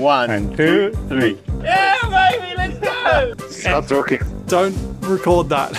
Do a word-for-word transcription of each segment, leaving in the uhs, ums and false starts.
One, two, three. Yeah, baby, let's go. Stop talking. Don't record that.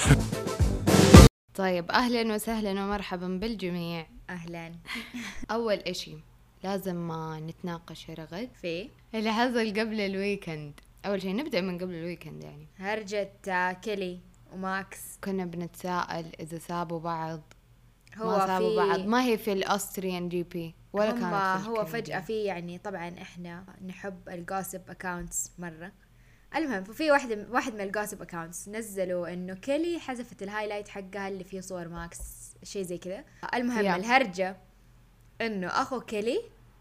طيب أهلا وسهلا ومرحبا بالجميع. أهلا. أول إشي لازم ما نتناقش يا رغد في اللي حصل قبل الويكند. أول شيء نبدأ من قبل الويكند، يعني هرجة كيلي وماكس. كنا بنتساءل إذا سابوا بعض هو ما سابوا في بعض، ما هي في الأستريان جي بي ولا كانت في هو الكندي. فجأة في يعني طبعا إحنا نحب الجوسب أكاونتس مرة. المهم ففي واحد واحد من الجوسب أكاونتس نزلوا إنه كيلي حذفت الهايلايت حقها اللي فيه صور ماكس، شيء زي كذا. المهم Yeah. الهرجة إنه أخو كيلي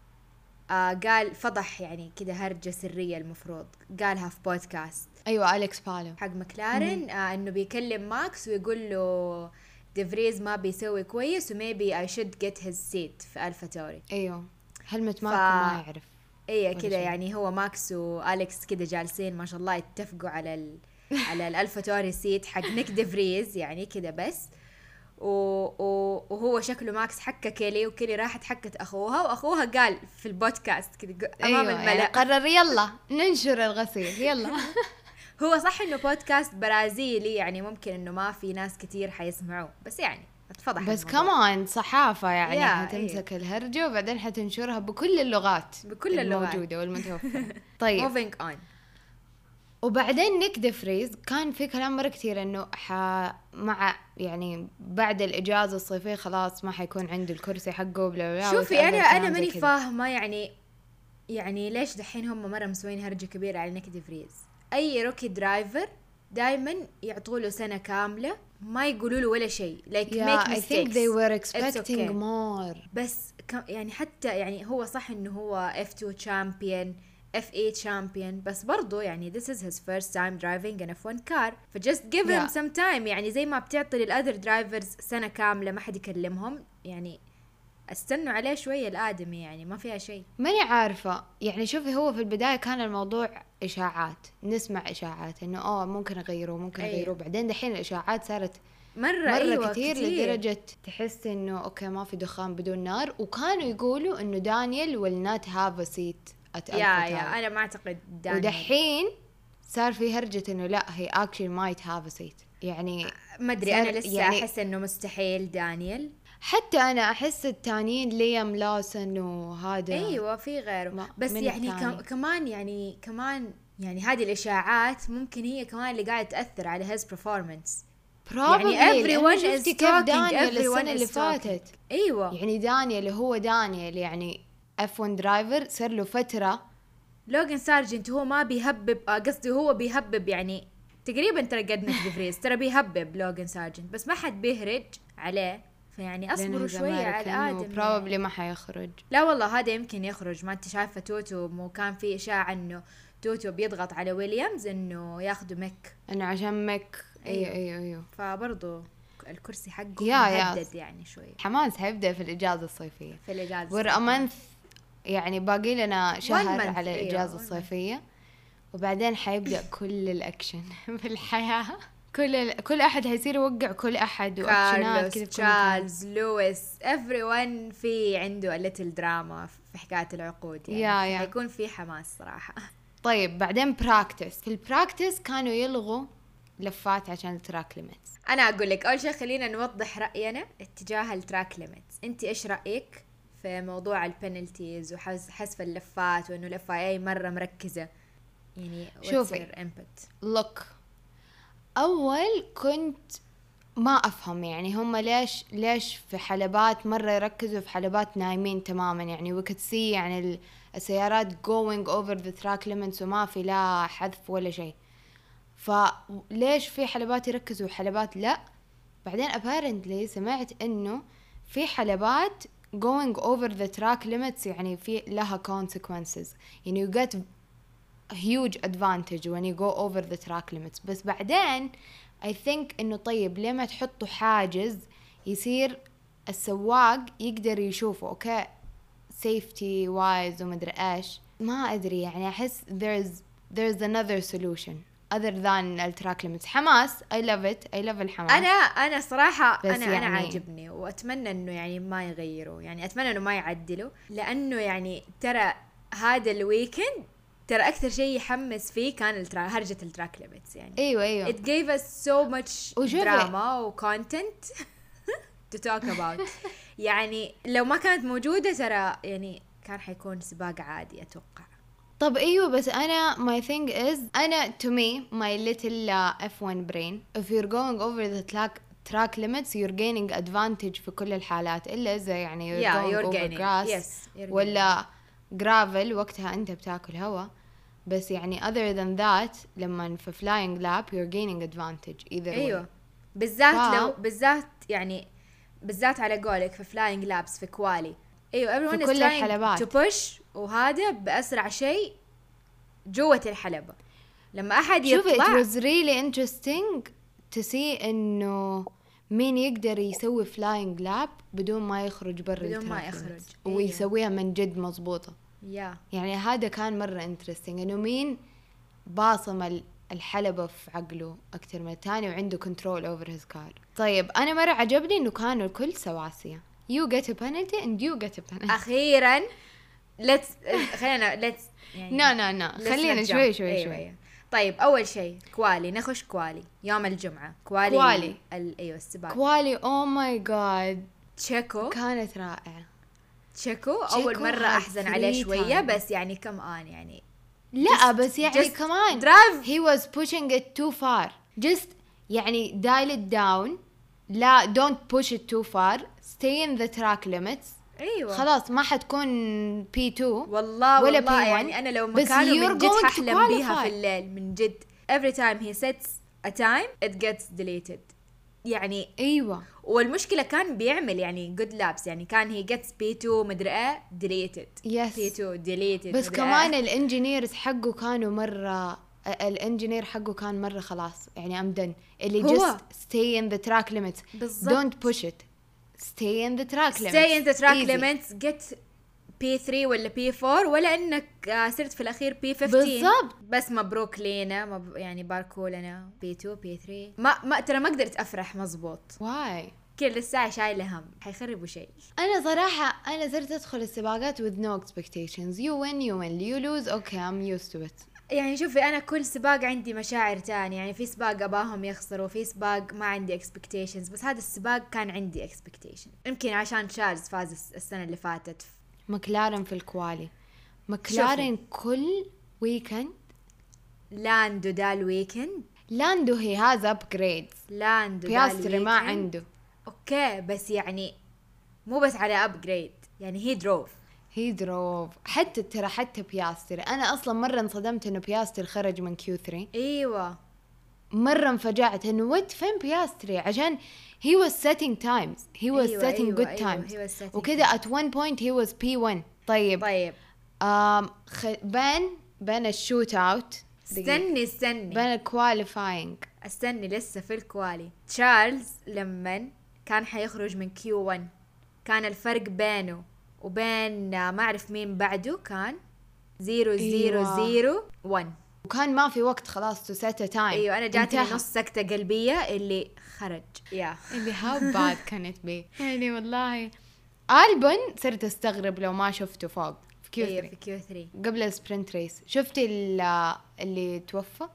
آه قال فضح يعني كده هرجة سرية، المفروض قالها في بودكاست أيوة أليكس بالو حق مكلارن، آه إنه بيكلم ماكس ويقول له ديفريز ما بيسوي كويس وميبي I should get his seat في ألفا توري. أيوة هلمة ف... ماركو ما يعرف. ايه كده يعني هو ماكس وأليكس كده جالسين ما شاء الله يتفقوا على ال... على الألفا توري سيت حق نيك ديفريز يعني كده بس. و... و... وهو شكله ماكس حكى كيلي وكيلي راحت حكت أخوها وأخوها قال في البودكاست كده أمام أيوة الملأ يعني قرر يلا ننشر الغسيل يلا. هو صح إنه بودكاست برازيلي يعني ممكن إنه ما في ناس كتير حيسمعوه، بس يعني اتفضح بس الموضوع. كمان صحافة يعني يا حتمسك الهرجة وبعدين حتنشرها بكل اللغات بكل اللغات الموجودة والمتوفرة. طيب moving on. وبعدين نيك ديفريز كان في كلام مرة كتير انه ح... مع يعني بعد الاجازة الصيفية خلاص ما حيكون عنده الكرسي حقه بلا بلا. شوفي انا وتأذى انا كلام زي ماني كده. فاهمة يعني يعني ليش دحين هم مرة مسوين هرجة كبيرة على نيك ديفريز؟ اي روكي درايفر دايما يعطوا له سنة كاملة ما يقولوا له ولا شيء like yeah, make I think mistakes. they were It's expecting okay. more. بس ك- يعني حتى يعني هو صح انه هو إف تو champion إف إيت champion بس برضو يعني this is his first time driving an إف ون car ف just give him Yeah. some time. يعني زي ما بتعطي للأذر drivers سنة كاملة ما حد يكلمهم، يعني استنوا عليه شوية الآدمي يعني ما فيها شيء. ماني عارفة يعني. شوفي هو في البداية كان الموضوع إشاعات، نسمع إشاعات إنه أوه ممكن أغيره ممكن أيوة. أغيره. بعدين دحين الإشاعات صارت مرة, مرة أيوة كتير, كتير لدرجة تحس إنه أوكي ما في دخان بدون نار. وكانوا يقولوا إنه دانيال will not have a seat at يا ألفا يا تاور. أنا ما أعتقد دانيال. ودحين صار في هرجة إنه لا he actually might have a seat يعني ما أدري صار أنا لسه يعني أحس إنه مستحيل دانيال. حتى أنا أحس التانيين ليام لاسن وهذا أيوة في غيره ما- بس من يعني الثاني؟ كم كمان يعني كمان يعني هذه الإشاعات ممكن هي كمان اللي قاعدة تأثر على his performance. probably يعني everyone لأنه is شفتي كيف talking, دانيال everyone السنة اللي is talking. فاتت. أيوة يعني دانيال اللي هو دانيال يعني إف ون درايفر صار له فترة. لوغان سارجنت هو ما بيهبب، آه، قصدي هو بيهبب يعني تقريبا ترى قد نيك ديفريز ترى بيهبب لوغان سارجنت بس ما حد بيهرج عليه، فيعني اصبروا شوية على الآدم. probably ما حيخرج. لا والله هذا يمكن يخرج. ما انت شايفة توتو مو كان في إشاعة انه توتو بيضغط على ويليامز انه ياخدوا ميك، انه عشان ميك. ايوه أيوة. ايوه ايوه فبرضو الكرسي حقه يا- يا. مهدد يعني شوي حماس حيبدأ في الإجازة الصيفية. في الإجازة. ور أمانث يعني باقي لنا شهر month، على أيوة، الإجازة one month. الصيفية وبعدين حيبدأ كل الأكشن في الحياة. كل ال... كل أحد هيصير يوقع كل أحد وأكشنات كذا كارلوس، في كل مكان. تشارلز، لويس، everyone في عنده الليتل دراما في حكاية العقود يعني. يا- يا. حيكون في حماس صراحة. طيب بعدين براكتس. في البراكتس كانوا يلغوا لفات عشان التراك ليميتس. أنا أقول لك أول شيء خلينا نوضح رأينا اتجاه التراك ليميتس. أنت إيش رأيك في موضوع البنالتيز وحذف اللفات وإنه الإف آي إيه مرة مركزة يعني شوفي. امبت لوك أول كنت ما أفهم يعني هم ليش ليش في حلبات مرة يركزوا في حلبات نايمين تماما. يعني we could see يعني ال- السيارات going over the track limits وما في لا حذف ولا شيء. فليش في حلبات يركزوا وحلبات لا؟ بعدين apparently سمعت إنه في حلبات going over the track limits يعني في لها consequences. يعني you get huge advantage when you go over the track limits. بس بعدين I think إنه طيب ليه ما تحطوا حاجز يصير السواق يقدر يشوفه أوكي safety wise ومدري إيش. ما أدري يعني أحس there's there's another solution other than التراك limits. حماس I love it I love الحماس. أنا أنا صراحة بس أنا يعني أنا عاجبني وأتمنى إنه يعني ما يغيروا، يعني أتمنى إنه ما يعدلوا، لأنه يعني ترى هذا الويكند ترى اكثر شيء يحمس فيه كان الترا... هرجة التراك ليميتس يعني. ايوه ايوه it gave us so much وشوفي. drama و content to talk about. يعني لو ما كانت موجودة ترى يعني كان حيكون سباق عادي اتوقع. طب ايوه بس انا my thing is انا to me my little uh, إف وان brain if you're going over the track track limits you're gaining advantage في كل الحالات الا اذا يعني you're yeah going you're over gaining grass yes you're ولا gravel وقتها انت بتاكل هوا. بس يعني other than that لما في flying lap you're gaining advantage either ايوه way. بالذات ف... لو بالذات يعني بالذات على قولك في flying laps في كوالي. ايوه everyone في is كل trying الحلبات. to push وهذا بأسرع شيء جوة الحلبة. لما احد شوفي يطلع it was really interesting to see انه مين يقدر يسوي flying lap بدون ما يخرج برا بدون ما التراك يخرج. limits ويسويها من جد مضبوطة. يا يعني هذا كان مرة interesting انه مين باصم ال- الحلبة في عقله أكتر من الثاني وعنده control over his car. طيب أنا مرة عجبني إنه كانوا الكل سواسية. You get a penalty and you get a penalty. اخيرا let's خلينا let's يعني لا لا لا let's خلينا not شوي jump. شوي أيوة شوي. أيوة. طيب اول شيء كوالي نخش كوالي يوم الجمعة كوالي كوالي. ال... ايوه السباق كوالي oh my god تشيكو كانت رائعة. تشيكو اول تشيكو مرة had احزن عليه free شوية time. بس يعني كم آن يعني لا Just- بس يعني just كمان drive. he was pushing it too far just يعني dial it down لا don't push it too far stay in the track limits ايوه خلاص ما حتكون بي تو والله ولا والله بي وان. يعني انا لو بس مكانه you're من جد going to ححلم بيها qualify. في الليل من جد every time he sets a time it gets deleted يعني. ايوه والمشكلة كان بيعمل يعني good laps يعني كان he gets بي تو مدري ايه deleted Yes. بي تو deleted بس مدري كمان إيه. الانجينيرز حقه كانوا مرة الانجينير حقه كان مرة خلاص يعني امدن اللي هو. just stay in the track limits بالضبط. don't push it stay in the track limits stay in the track Easy. limits get بي ثري ولا بي فور ولا انك آه، صرت في الاخير بي خمستاشر بالضبط. بس مبروك لينا مب... يعني باركو لنا بي تو بي ثري ما ما ترى ما قدرت افرح مزبوط why كل الساعة شايلة هم حيخربوا شيء. انا صراحة انا صرت ادخل السباقات with no expectations you win you win you lose okay I'm used to it. يعني شوفي انا كل سباق عندي مشاعر تانية يعني في سباق اباهم يخسروا في سباق ما عندي expectations بس هذا السباق كان عندي expectation يمكن عشان تشارلز فاز الس- السنة اللي فاتت. مكلارن في الكوالي مكلارن كل ويكند لاندو دا الويكند لاندو هي هاز upgrades لاندو دا بياستري ما الويكند. عنده اوكي بس يعني مو بس على ابجريد يعني هي دروف هي دروف حتى ترى حتى بياستري انا اصلا مره انصدمت انه بياستري خرج من كيو ثري ايوه مره انفجعت انه وات فين بياستري عشان he was setting times he was أيوة setting أيوة good أيوة times he was setting وكذا at one point he was بي ون. طيب طيب آم خ... بين بين الشوت اوت استني استني بين الكواليفاينج استني لسه في الكوالي تشارلز لما كان حيخرج من كيو ون كان الفرق بينه وبين آه، ما اعرف مين بعده كان زيرو زيرو أيوة. زيرو ون. وكان ما في وقت خلاص تو سيت تايم. ايوه انا جاتني انتهى. نص سكتة قلبية اللي خرج يا اللي how bad can it be يعني والله ألبن صرت استغرب لو ما شفته فوق في كيو ايوه في ثري كيو ثري قبل السبرنت ريس. شفتي ال- اللي توفى؟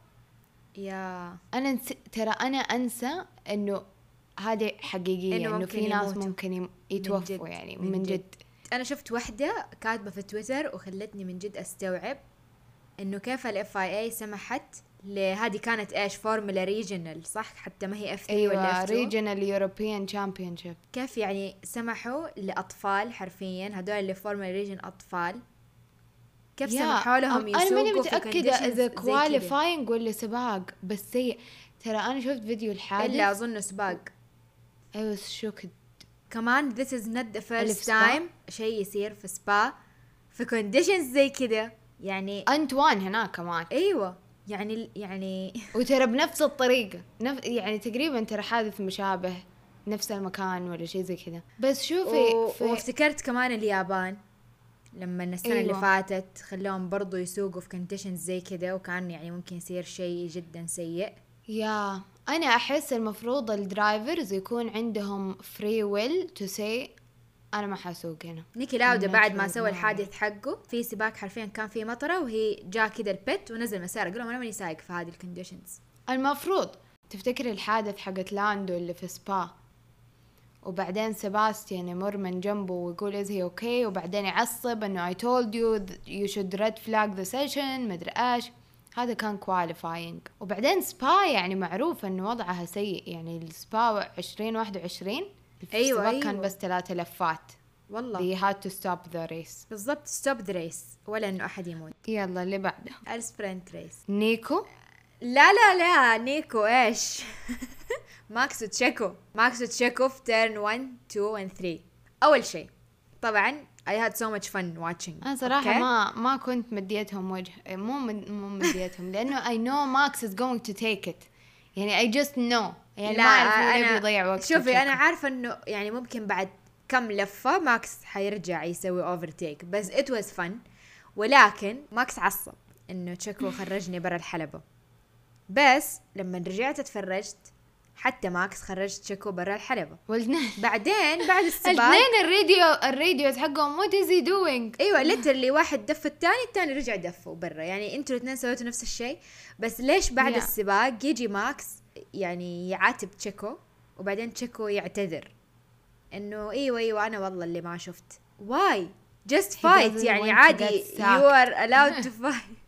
يا انا نس... ترى انا انسى انه هذه حقيقيه إنه انه ممكن في ناس يموتوا. ممكن يم- من يتوفوا جد، يعني من من جد. جد. انا شفت وحده كاتبه في تويتر وخلتني من جد استوعب انه كيف الاف اي اي سمحت لهذه كانت ايش فورمولا ريجنال صح حتى ما هي اف ثري ولا ايوه اف تو ريجنال يوروبيان تشامبيونشيب. كيف يعني سمحوا لاطفال حرفيا هذول اللي فورمولا ريجن اطفال كيف سمحوا لهم يسوقوا انا ماني في متاكده conditions اذا زي كده. كواليفاينج ولا سباق بس سيء. ترى انا شفت فيديو الحادث الا اظن سباق اي واز شوكد. كمان this is not the اللي first في سبا؟ time شيء يصير في سبا في conditions زي كده يعني انتوان هناك كمان ايوه يعني يعني وترى بنفس الطريقه نف... يعني تقريبا ترى حادث مشابه نفس المكان ولا شيء زي كذا. بس شوفي و... في... وافتكرت كمان اليابان لما السنة أيوة. اللي فاتت خلوهم برضو يسوقوا في conditions زي كده وكان يعني ممكن يصير شيء جدا سيء. يا انا احس المفروض الدرايفرز يكون عندهم free will to say انا ما حاسوق هنا. نيكي لاودا I'm بعد not ما sure سوى ما الحادث حقه في سباق حرفيا كان في مطره وهي جاء كده البت ونزل مسار، قال لهم انا ماني سايق في هذه الكونديشنز. المفروض تفتكر الحادث حقت لاندو اللي في سبا، وبعدين سباستيان يمر من جنبه ويقول is he okay، وبعدين يعصب انه I told you you should red flag the session مدري ايش، هذا كان qualifying. وبعدين سبا يعني معروف انه وضعها سيء، يعني السبا عشرين واحد وعشرين أيوة السباق أيوة. كان بس ثلاثة لفات والله they had to stop the race. بالضبط ستوب ذا ريس ولا انه احد يموت. يلا اللي بعده السبرنت ريس. نيكو. لا لا لا نيكو ايش ماكس وتشيكو. ماكس وتشيكو في تيرن واحد اثنين ثلاثة. اول شيء طبعا I had so much fun watching. أنا صراحة okay? ما ما كنت مديتهم وجه، مو مد... مو مديتهم لأنه I know Max is going to take it، يعني I just know، يعني لا ما أعرف هو ليه أنا بيضيع وقت. شوفي أنا عارفة إنه يعني ممكن بعد كم لفة ماكس حيرجع يسوي overtake، بس it was fun. ولكن ماكس عصب إنه تشيكو خرجني برا الحلبة، بس لما رجعت اتفرجت حتى ماكس خرج تشيكو برا الحلبة. والاثنين بعدين بعد السباق الاثنين الراديو الراديوز حقهم what is he doing. ايوه ليترلي واحد دف الثاني الثاني رجع دفه برا، يعني انتوا الاثنين سويتوا نفس الشيء. بس ليش بعد Yeah. السباق يجي ماكس يعني يعاتب تشيكو وبعدين تشيكو يعتذر انه ايوه ايوه انا والله اللي ما شفت. واي جست فايت doesn't يعني want to عادي get you are allowed to fight.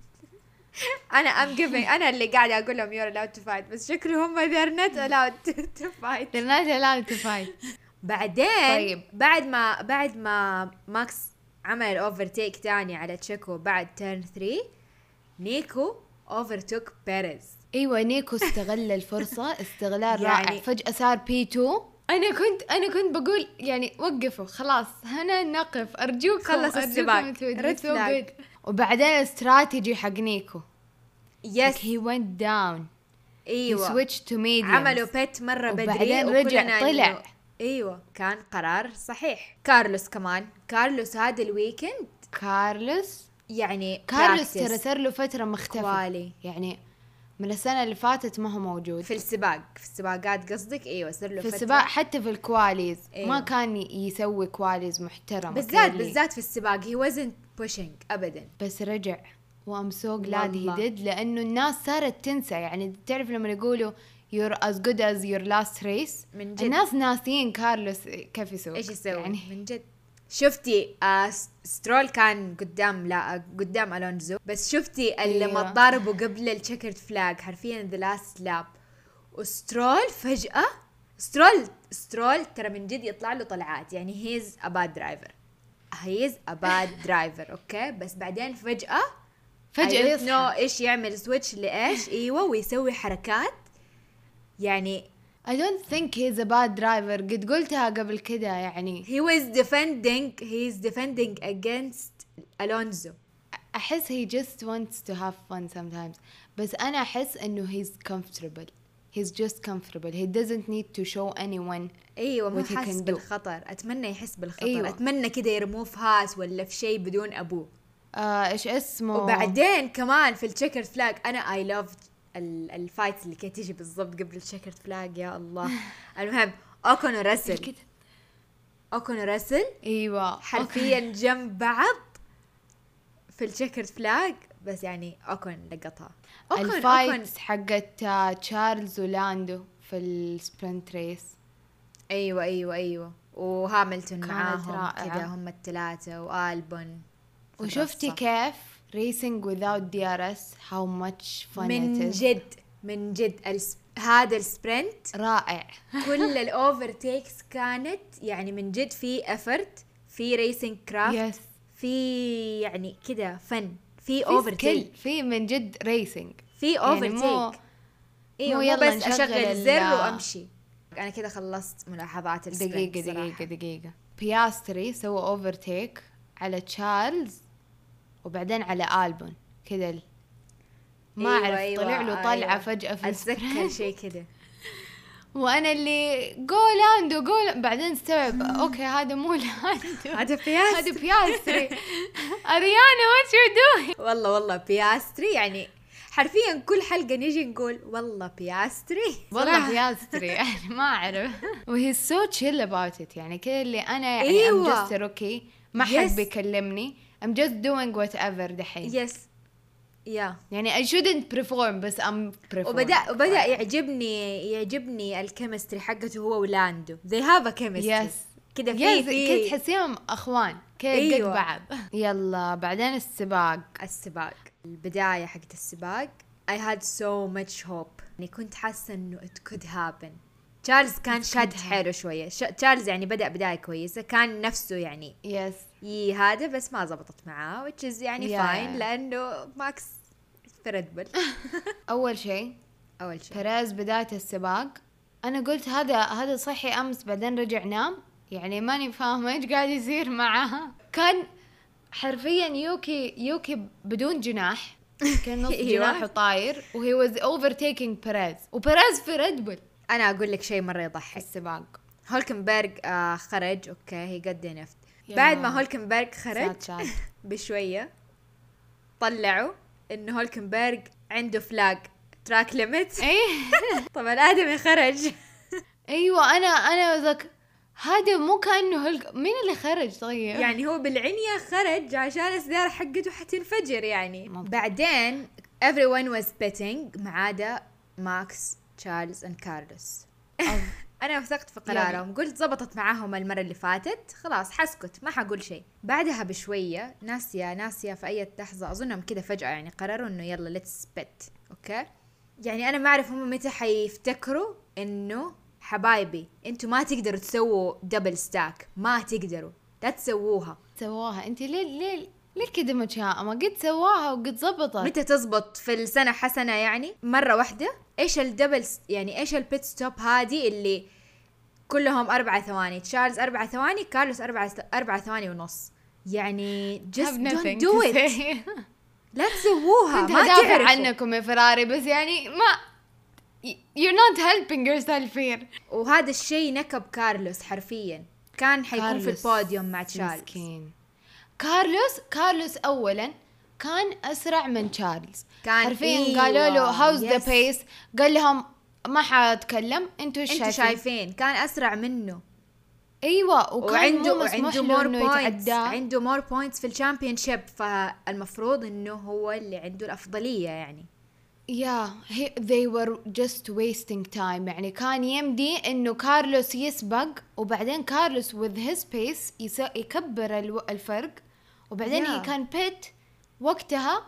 انا I'm giving انا اللي قاعده اقول لهم you're allowed to fight، بس شكله هم they're not allowed to fight. they're not allowed to fight. بعدين طيب. بعد ما بعد ما ماكس عمل اوفرتيك تاني على تشيكو بعد تيرن ثلاثة، نيكو اوفرتوك بيريز. ايوه نيكو استغل الفرصة استغلال يعني- رائع، فجأة صار بي تو. انا كنت انا كنت بقول يعني وقفوا خلاص هنا نقف ارجوكم خلص أرجوكم السباق. تودوا. Red So flag. good. وبعدين الاستراتيجي حق نيكو يس like he went down he ايوه switched to mediums. عملوا بيت مره بدري وبعدين وكلنا رجع طلع. إنه- ايوه كان قرار صحيح. كارلوس كمان كارلوس هذا الويكند كارلوس يعني كارلوس practice ترى صار له فترة مختفي كوالي. يعني من السنة اللي فاتت ما هو موجود في السباق في السباقات قصدك. ايوه صار له في فترة. السباق حتى في الكواليز أيوة. ما كان يسوي كواليز محترمة بالذات clearly. بالذات في السباق he wasn't pushing ابدا. بس رجع وام سو glad he والله. did لأنه الناس صارت تنسى، يعني تعرف لما يقولوا you're as good as your last race من جد. الناس ناسيين كارلوس كيف يسوي ايش يسوي يعني. من جد. شفتي آه سترول كان قدام لا آه قدام الونزو، بس شفتي اللي أيوة. لما ضاربوا قبل التشيكرد فلاج حرفيا ذا لاست لاب، وسترول فجأة سترول سترول ترى من جد يطلع له طلعات، يعني هيز ا باد درايفر هيز ا باد درايفر اوكي، بس بعدين فجأة فجأة نو يصحى. ايش يعمل سويتش لايش ايوه ويسوي حركات يعني. I don't think he's a bad driver، قد قلتها قبل كده يعني. he was defending he is defending against Alonso. أحس he just wants to have fun sometimes، بس أنا أحس إنه he's comfortable he's just comfortable he doesn't need to show anyone. ايوه ما what he حاسس can do. بالخطر. اتمنى يحس بالخطر. أيوة. أيوة. اتمنى كده يرموه في هاس ولا في شيء بدون ابوه. آه إيش اسمه. وبعدين كمان في التشيكرد فلاج انا اي لاف الفايتس اللي كانت تيجي بالضبط قبل التشيكرد فلاج يا الله. المهم اوكون وراسل كده. اوكون وراسل أيوة حرفيا جنب بعض في التشيكرد فلاج، بس يعني اوكون لقطها. اوكون اوكون الفايت حقت آه، تشارلز ولاندو في السبرنت ريس. ايوه ايوه ايوه وهاملتون كانت معاهم رائعة. كذا هم الثلاثه والبون. في وشفتي الرصة. كيف racing without دي آر إس how much fun من it is. جد من جد الس... هذا السبرنت رائع. كل الاوفرتيكس كانت يعني من جد في افرت، في ريسنج كرافت، yes في يعني كده فن، في في اوفرتيك، skill، في من جد racing في يعني اوفرتيك مو ايوه مو مو يلا بس نشغل اشغل ال- الزر وامشي. انا كده خلصت ملاحظات السبرنت دقيقة صراحة. دقيقة دقيقة بياستري سوى اوفرتيك على تشارلز وبعدين على ألبون كذا ال- ما أيوة أعرف أيوة طلع له طلعة أيوة. فجأة في اتذكر السبرنت شيء كده. وأنا اللي جو لاندو جو بعدين استوعب أوكي هذا مو لاندو هذا بياستري. هذا بياستري. أريانا what you doing. والله والله بياستري يعني حرفيا كل حلقة نيجي نقول والله بياستري والله بياستري يعني ما أعرف. وهي so chill about it يعني كده اللي أنا يعني أيوة. I'm just okay ما حد Yes. بيكلمني I'm just doing whatever دحين. يس يا يعني I shouldn't perform بس I'm performing. وبدأ وبدأ يعجبني يعجبني الكيمستري حقته هو ولاندو. they have a chemistry. Yes. كده في يس في كده تحسيهم أخوان كده أيوة. قد بعض. يلا بعدين السباق. السباق البداية حقت السباق I had so much hope يعني كنت حاسة إنه it could happen. تشارلز كان شاد حيله شوية. تشارلز يعني بدأ بداية كويسة كان نفسه يعني يس ي هذا بس ما زبطت معاه which is يعني Yeah. fine لأنه ماكس في ريد بول. أول شيء أول شيء بيريز بداية السباق أنا قلت هذا هذا صحي أمس بعدين رجع نام يعني ماني فاهمة إيش قاعد يصير معها. كان حرفيا يوكي يوكي بدون جناح كان نص جناحه طاير وهي was overtaking بيريز وبيريز في ريد بول. أنا أقول لك شيء مرة يضحك. السباق هولكنبرغ آه خرج أوكي هي قد نفت. يا. بعد ما هولكنبرغ خرج ساد ساد. بشوية طلعوا إنه هولكنبرغ عنده فلاج تراك ليميت. ايه طبعا آدمي خرج. ايوه انا انا ذاك هذا مو كانه هلك مين اللي خرج طيب يعني هو بالعنية خرج عشان السيارة حقته حتنفجر يعني. ممكن. بعدين everyone was betting ما عدا ماكس تشارلز and كارلوس. أنا وثقت في قرارهم قلت زبطت معاهم المرة اللي فاتت خلاص حسكت ما حقول شيء. بعدها بشوية ناسية ناسية في أي لحظة أظنهم كده فجأة يعني قرروا إنه يلا let's bet أوكي. يعني أنا ما أعرف هم متى حيفتكروا إنه حبايبي انتوا ما تقدروا تسووا دبل ستاك ما تقدروا لا تسووها. سواها انت ليه ليه ليه كده متشائمة قد سواها وقد زبطت. متى تزبط في السنة حسنة يعني مرة واحدة. ايش الدبل يعني ايش البيت ستوب هذه اللي كلهم أربعة ثواني تشارلز أربعة ثواني كارلوس أربعة أربعة ثواني ونص يعني just don't do it. لا تسووها كنت ما هدافع تعرفوا عنكم يا فراري بس يعني ما you're not helping yourself here. وهذا الشيء نكب كارلوس حرفيا كان حيكون في كارلوس البوديوم مع تشارلز. مسكين. كارلوس كارلوس أولا كان أسرع من تشارلز كان حرفيا إيوه. قالوا له how's Yes. the pace قال لهم ما حاتكلم انتوا ايش انتوا شايفين. شايفين كان أسرع منه. ايوه وكان وعنده مو مسموح عنده له مور انه بوينتس يتعداه. عنده مور بوينتس في الشامبيون شيب فالمفروض انه هو اللي عنده الافضليه يعني. يا yeah, they were just wasting time يعني كان يمدي انه كارلوس يسبق وبعدين كارلوس with his pace يس- يكبر الو- الفرق وبعدين Yeah. he can pit وقتها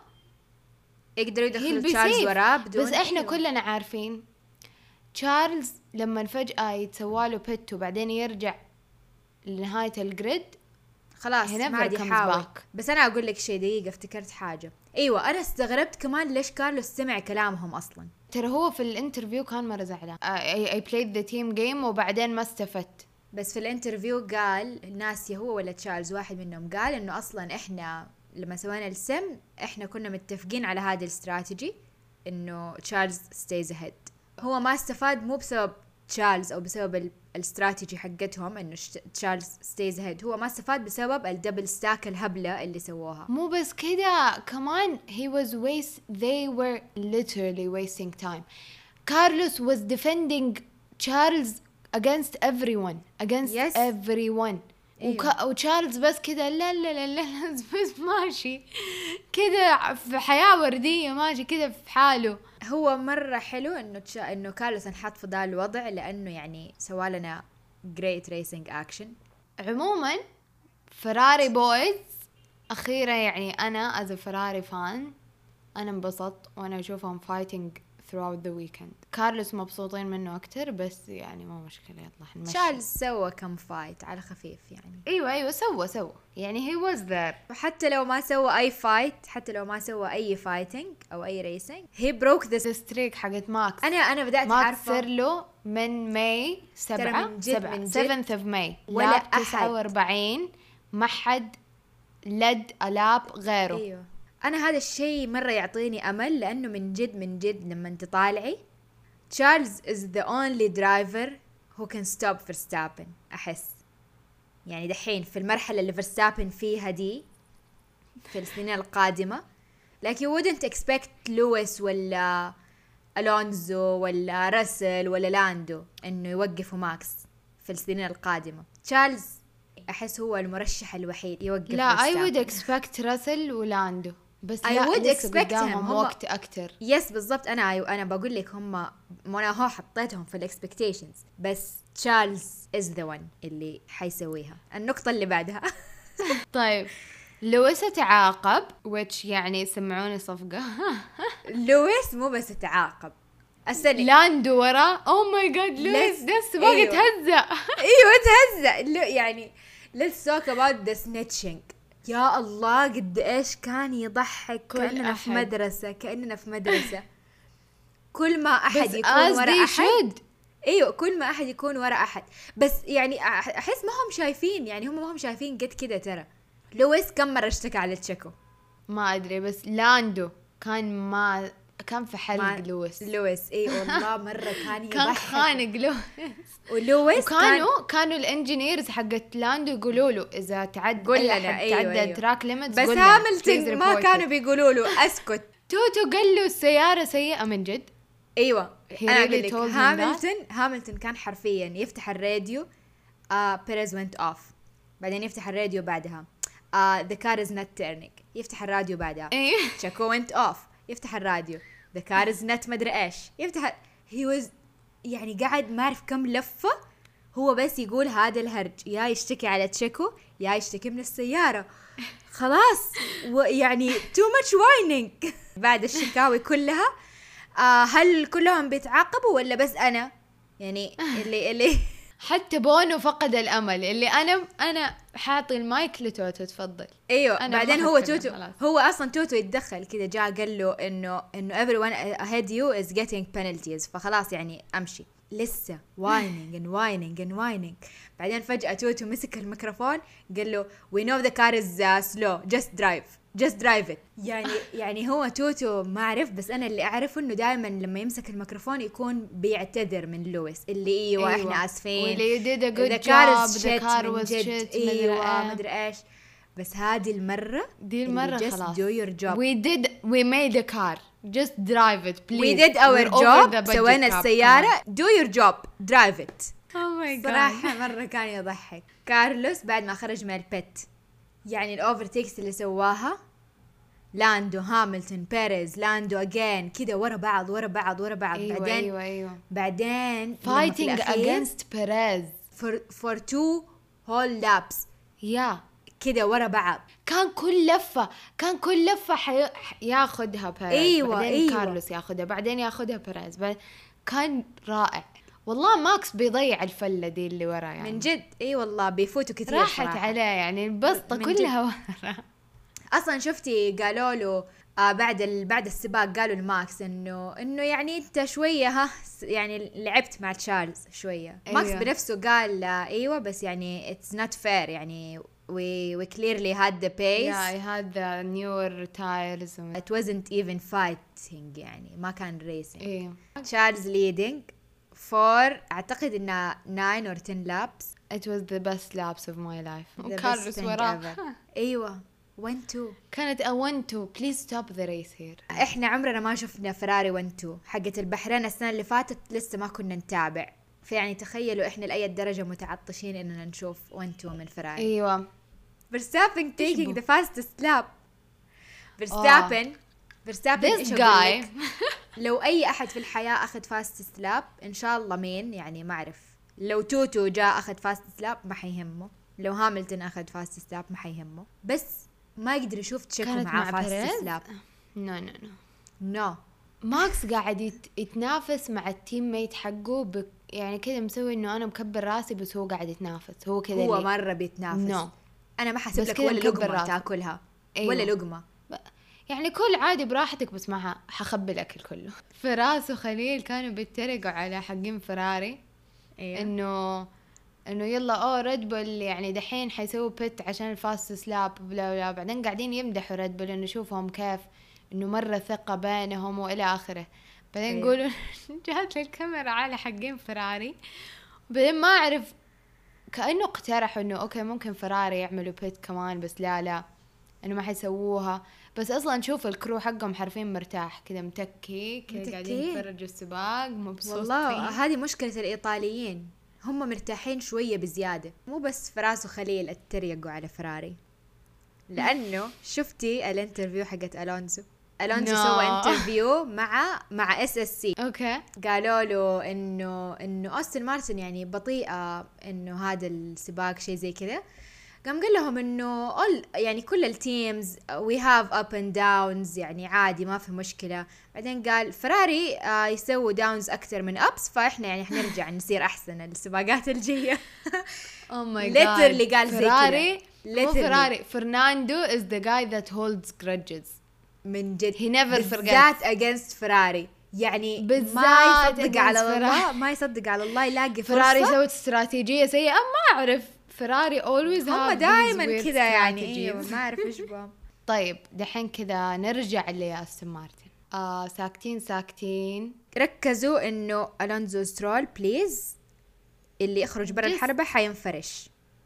يقدروا he'll يدخلوا be تشارلز safe. وراه بدون بس احنا أيوه. كلنا عارفين تشارلز لما فجأة يتسواله بيت وبعدين يرجع لنهاية الجريد خلاص he never ما عاد comes يحاول. back. بس انا اقول لك شيء دقيقه افتكرت حاجه. ايوه انا استغربت كمان ليش كارلوس سمع كلامهم اصلا. ترى هو في الانترفيو كان مرة زعلان. I, I played the team game وبعدين ما استفدت. بس في الانترفيو قال ناسي هو ولا تشارلز واحد منهم قال انه اصلا احنا لما سوينا السم احنا كنا متفقين على هذه الاستراتيجي انه تشارلز ستيز اهيد. هو ما استفاد مو بسبب تشارلز او بسبب ال- الاستراتيجي حقتهم انه ش- تشارلز ستيز اهيد هو ما استفاد بسبب الدبل ستاك الهبلة اللي سووها. مو بس كده كمان he was waste they were literally wasting time. Carlos was defending Charles against everyone against Yes. everyone. وك... وتشارلز بس كده لا لا لا لا بس ماشي كده في حياة وردية ماشي كده في حاله. هو مرة حلو انه تشا... انه كارلوس انحط في ذا الوضع لانه يعني سوالنا great racing action. عموما فراري بويز أخيرا يعني أنا as a فراري فان أنا انبسطت وأنا أشوفهم fighting throughout the weekend. كارلوس مبسوطين منه أكتر بس يعني مو مشكلة يلا حنمشي. تشارلز سوى كم فايت على خفيف يعني. أيوة أيوة سوى سوى يعني he was there. وحتى لو ما سوى اي فايت حتى لو ما سوى اي فايتنج او اي ريسنج he broke this. the streak حقت ماكس. انا انا بدأت ماكس عارفة صار له من ماي سبعة من جد- سبعة من جد seventh of May ولا لاب أحد. تسعة وأربعين ما حد لد ألاب غيره. ايوه انا هذا الشيء مرة يعطيني امل لانه من جد من جد لما انت طالعي تشارلز is the only driver who can stop Verstappen احس يعني دحين في المرحلة اللي Verstappen فيها دي في السنين القادمة like you wouldn't expect لويس ولا ألونزو ولا راسل ولا لاندو إنه يوقفوا ماكس في السنين القادمة. تشارلز أحس هو المرشح الوحيد يوقف. لا I فيرستابن. would expect راسل ولاندو بس I لا would لسه expect قدامهم him. هم- وقت أكتر. يس بالضبط. أنا أنا بقول لك هم أنا هو حطيتهم في الإكسبكتيشنز بس تشارلز is the one اللي حيسويها. النقطة اللي بعدها طيب لويس تعاقب which يعني سمعوني صفقة. لويس مو بس تعاقب السنة. لاندو ورا oh my god لويس Let's- ده السباق أيوة. يتهزأ. ايوه تهزأ. لو يعني let's talk about the snitching. يا الله قد ايش كان يضحك. كل كأننا في أحد. مدرسة كأننا في مدرسة كل ما احد بس يكون as ورا they احد. should. ايوه كل ما احد يكون ورا احد بس يعني أح- احس ما هم شايفين يعني هم ما هم شايفين قد كده. ترى لويس كم مرة اشتكى على تشيكو. ما أدري بس لاندو كان ما كان في حلق مع لويس. لويس اي والله مرة كان كان يضحك. خانق لويس. ولويس كان وكانوا كانوا الانجينيرز حقت لاندو يقولوا له اذا تعد قول اي لنا. أحد أيوة، تعدى أيوة. تراك ليميتس بس هاملتون ما كانوا بيقولوا له اسكت. توتو قال له السيارة سيئة من جد. ايوه He انا really اقول لك told him هاملتون هاملتون كان حرفيا يفتح الراديو آه بيريز went off بعدين يفتح الراديو بعدها آه the car is not turning يفتح الراديو بعدها ايه تشيكو went off يفتح الراديو the car is not مدري ايش يفتح. he was يعني قاعد ما اعرف كم لفة هو بس يقول هذا الهرج. يا يشتكي على تشيكو يا يشتكي من السيارة. خلاص ويعني too much whining. بعد الشكاوي كلها آه هل كلهم بيتعاقبوا ولا بس أنا يعني اللي اللي حتى بونو فقد الامل اللي انا انا حاطي المايك لتوتو تفضل. ايوه أنا بعدين ما هو حتكلم توتو خلاص. هو اصلا توتو يتدخل كذا جاء قال له انه انه everyone ahead you is getting penalties فخلاص يعني امشي. لسه whining and whining and whining بعدين فجأة توتو مسك الميكروفون قال له we know the car is uh, slow just drive just drive it. يعني يعني هو توتو ما اعرف بس انا اللي اعرفه انه دائما لما يمسك الميكروفون يكون بيعتذر من لويس اللي ايوه, أيوة. احنا اسفين واللي you did a good the car job is the shit car من was جد. shit ايوه مدري مدري ايش بس هذه المرة دي المرة just خلاص do your job. we did we made a car just drive it please we did our We're over job the budget سوينا cap. السيارة do your job drive it. oh my god صراحة مرة كان يضحك. كارلوس بعد ما خرج من البيت يعني الاوفرتيكس اللي سواها لاندو هاملتون بيريز لاندو اجين كده ورا بعض ورا بعض ورا بعض. ايوه بعدين ايوه ايوه بعدين لما في fighting الأخير against Perez for for two whole laps يا كده ورا بعض. كان كل لفة كان كل لفة حي... ح- ياخدها بيريز أيوة، بعدين أيوة. كارلوس ياخدها بعدين ياخدها بيريز بعد... كان رائع والله. ماكس بيضيع الفلة دي اللي ورا يعني من جد اي والله بيفوتوا كثير راحت صراحة. عليه يعني البسطة من كلها ورا. اصلا شفتي قالوا له آه بعد ال... بعد السباق قالوا لماكس انه انه يعني انت شويه ها س- يعني لعبت مع تشارلز شويه. أيوة. ماكس بنفسه قال آه ايوه بس يعني اتس نوت فير يعني we we clearly had the pace Yeah, I had the newer tires. and- it wasn't even fighting يعني ما كان racing. إيه. تشارلز leading for اعتقد انه nine or ten laps. It was the best laps of my life. The best وكارلوس thing وراه. ever. ايوه one two. كانت I want to please stop the race here. احنا عمرنا ما شفنا فراري واحد تو حقت البحرين السنة اللي فاتت لسه ما كنا نتابع. فيعني تخيلوا احنا لأي درجة متعطشين اننا نشوف واحد تو من فراري. ايوه Verstappen taking بو؟ the fastest lap. Verstappen Verstappen this إيش guy أقول لك؟ لو اي احد في الحياة اخذ fastest lap ان شاء الله مين يعني ما اعرف. لو توتو جاء اخذ fastest lap ما حيهمه. لو هاملتون اخذ fastest lap ما حيهمه. بس ما يقدر يشوف تشيكو كانت معاه مع fastest بيريز؟ lap. نو نو نو نو ماكس قاعد يت... يتنافس مع التيم ميت حقه ب... يعني كذا مسوي انه انا مكبر راسي بس هو قاعد يتنافس هو كذا هو اللي... مرة بيتنافس. No. انا ما حسب بس لك كده ولا مكبر لقمة راسك. تاكلها. أيوة. ولا لقمة. يعني كل عادي براحتك بس ما ح- حخبي الاكل كله. فراس وخليل كانوا بيتريقوا على حقين فراري ايوه انه انه يلا اوه ريد بول يعني دحين حيسووا بيت عشان الفاست سلاب بلا بلا. بعدين قاعدين يمدحوا ريد بول انه شوفهم كيف انه مرة ثقة بينهم والى اخره. بعدين أيوة. يقولوا جات الكاميرا على حقين فراري. بعدين ما اعرف كأنه اقترحوا انه اوكي ممكن فراري يعملوا بيت كمان بس لا لا انه ما حيسووها. بس اصلا شوف الكرو حقهم حرفيا مرتاح كذا متكي كذا قاعدين متكين. يتفرجوا السباق مبسوطين. والله هذه مشكلة الإيطاليين، هم مرتاحين شوية بزيادة. مو بس فراس وخليل اتريقوا على فراري، لأنه شفتي الانترفيو حقت ألونزو؟ ألونزو No. سوى انترفيو مع مع اس اس سي. اوكي قالوا له انه انه أوستن مارتن يعني بطيئة انه هذا السباق شيء زي كذا. قام قال لهم انه all يعني كل التيمز we have up and downs يعني عادي ما في مشكلة. بعدين قال فراري آه يسووا داونز اكثر من ابس، فاحنا يعني حنرجع نصير احسن السباقات الجاية. او ماي جاد literally قال زي كذا. فراري مو Literally. فراري فرناندو is the guy that holds grudges. من جد He never بالذات against فراري، يعني بالذات ما يصدق against على الله، فراري. ما يصدق على الله يلاقي فرصة. فراري سوت استراتيجية سيئة ما أعرف. فراري always هم have دائما these weird كذا يعني strategies. ايوه ما اعرف ايش بهم. طيب دحين كذا نرجع لأستون مارتن. آه ساكتين ساكتين. ركزوا انه الونزو سترول بليز اللي يخرج برا Just- الحربة حينفرش،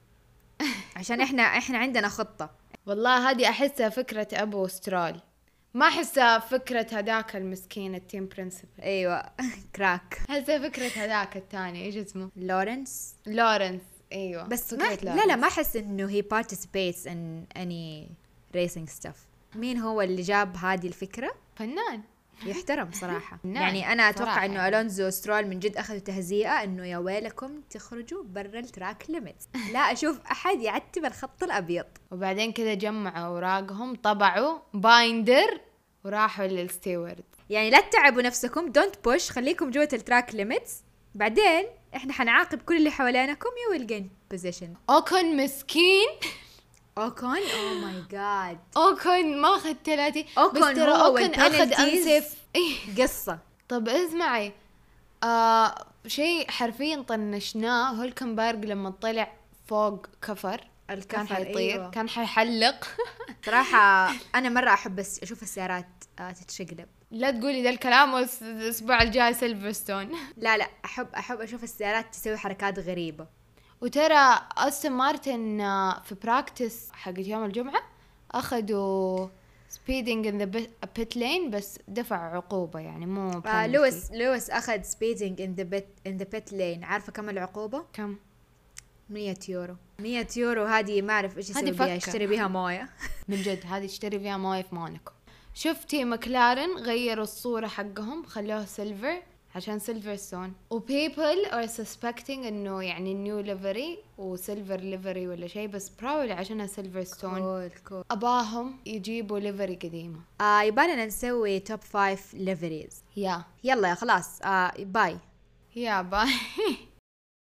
عشان احنا احنا عندنا خطة. والله هذه أحسها فكرة أبو سترول، ما أحسها فكرة هذاك المسكين التيم برنسبل. ايوه كراك أحسها فكرة هذاك الثاني إيش اسمه؟ لورنس. لورنس. أيوة بس فكرة ما لا لا لورنس. ما احس انه he participates in any racing stuff. مين هو اللي جاب هذه الفكرة؟ فنان. يحترم صراحة. نعم، يعني أنا أتوقع صراحة إنه يعني. ألونزو سترول من جد أخذوا تهزيئة إنه يا ويلكم تخرجوا برا التراك ليميت. لا أشوف أحد يعتب الخط الأبيض. وبعدين كذا جمعوا أوراقهم طبعوا بايندر وراحوا للستيورد. يعني لا تتعبوا نفسكم، دونت بوش، خليكم جوة التراك ليميتس. بعدين إحنا حنعاقب كل اللي حوالينكم you will gain position. أوكون مسكين. أوكون أوه ماي جاد. أوكون ما أخذ ثلاثي. أوكون بس ترى هو أوكون أخذ والpenalties. أنسف. قصة. طب اسمعي آه شيء حرفيا طنشناه. هولكنبرغ لما طلع فوق كفر كان الكفر حيطير. أيوة. كان حيحلق. صراحة أنا مرة أحب بس أشوف السيارات آه تتشقلب. لا تقولي ذا الكلام والأسبوع الجاي سيلفرستون. لا لا أحب أحب أشوف السيارات تسوي حركات غريبة. وترى أستون مارتن آه، في براكتس حق يوم الجمعة أخذوا speeding in the pit lane بس دفع عقوبة يعني مو آه penalty. لويس لويس أخذ speeding in the pit in the pit lane. عارفة كم العقوبة؟ كم؟ مية يورو. مية يورو هذه ما أعرف إيش يسوي هذه بيها، فكة. يشتري بيها موية. من جد هذه تشتري فيها مويه في مونيكو. شفتي مكلارن غيروا الصورة حقهم خلوها سيلفر عشان سيلفرستون. و people are suspecting انه يعني نيو ليفري وسيلفر ليفري ولا شيء، بس probably عشانها سيلفرستون كول كول. اباهم يجيبوا ليفري قديمة. آه يبالنا نسوي توب فايف ليفريز. يا يلا يا خلاص آه باي. يا باي.